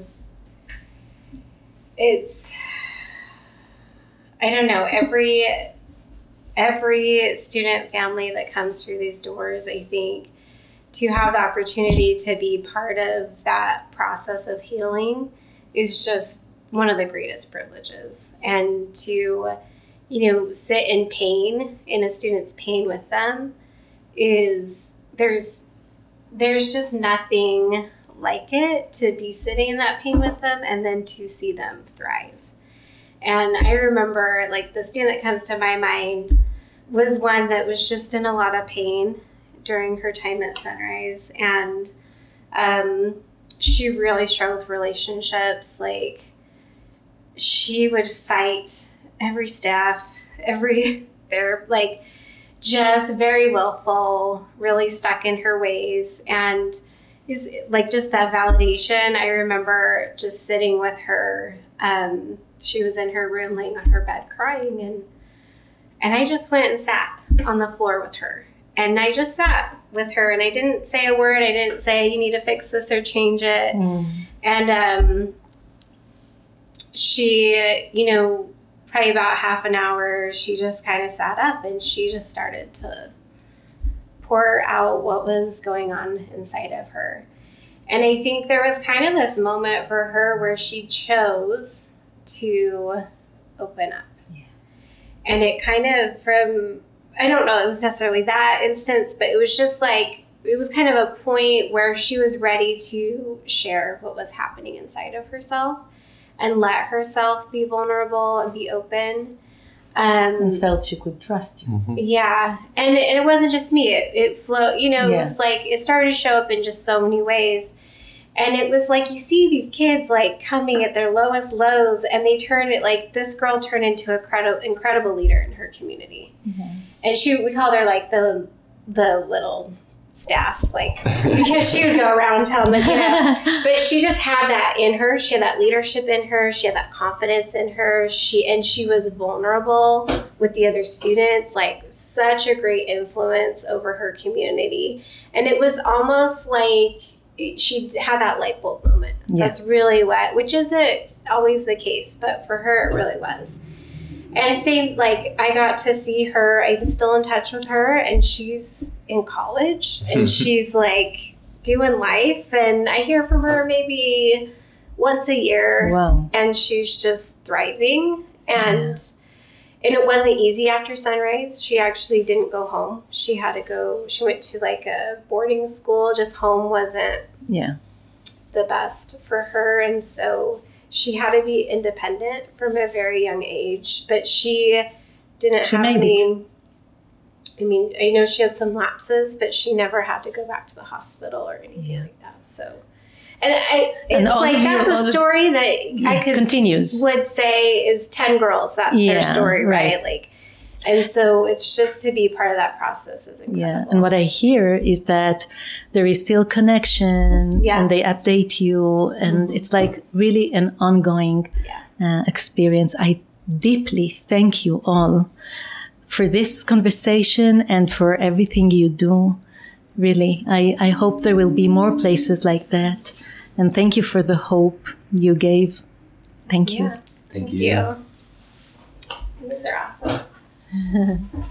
it's, I don't know, every every student family that comes through these doors, I think, to have the opportunity to be part of that process of healing is just one of the greatest privileges. And to, you know, sit in pain, in a student's pain with them, is, there's, there's just nothing like it to be sitting in that pain with them and then to see them thrive. And I remember, like, the student that comes to my mind was one that was just in a lot of pain during her time at Sunrise. And um, she really struggled with relationships. Like, she would fight every staff, every, they're like, just very willful, really stuck in her ways. And is like just that validation. I remember just sitting with her. Um, she was in her room laying on her bed crying, and and I just went and sat on the floor with her. And I just sat with her, and I didn't say a word. I didn't say, you need to fix this or change it. Mm. And um, she, you know, probably about half an hour, she just kind of sat up and she just started to pour out what was going on inside of her. And I think there was kind of this moment for her where she chose to open up. Yeah. And it kind of from, I don't know, it was necessarily that instance, but it was just like, it was kind of a point where she was ready to share what was happening inside of herself and let herself be vulnerable and be open. Um, and felt she could trust you. Mm-hmm. Yeah. And, and it wasn't just me. It, it flowed, you know, yeah. It was like, it started to show up in just so many ways. And it was like, you see these kids like coming at their lowest lows, and they turn it, like this girl turned into a credi- incredible leader in her community. Mm-hmm. And she, we called her like the, the little staff, like, because she would go around telling them, you know, but she just had that in her. She had that leadership in her. She had that confidence in her. She, and she was vulnerable with the other students, like such a great influence over her community. And it was almost like she had that light bulb moment. Yeah. That's really what, which isn't always the case, but for her, it really was. And same, like, I got to see her, I'm still in touch with her, and she's in college, and she's, like, doing life, and I hear from her maybe once a year. Wow. And she's just thriving, and yeah. and it wasn't easy after Sunrise. She actually didn't go home. She had to go, she went to, like, a boarding school. Just home wasn't yeah. the best for her, and so she had to be independent from a very young age, but she didn't she have made any, it. I mean, I know she had some lapses, but she never had to go back to the hospital or anything yeah. like that. So, and I, it's and like, that's you, a story that yeah, I could, continues. would say is ten girls. That's yeah, their story, right? right? Like, and so it's just to be part of that process is incredible. Yeah, and what I hear is that there is still connection, yeah. and they update you, and mm-hmm. it's like really an ongoing yeah. uh, experience. I deeply thank you all for this conversation and for everything you do. Really, I, I hope there will be more places like that. And thank you for the hope you gave. Thank you. Yeah. Thank, thank you. you. These are awesome.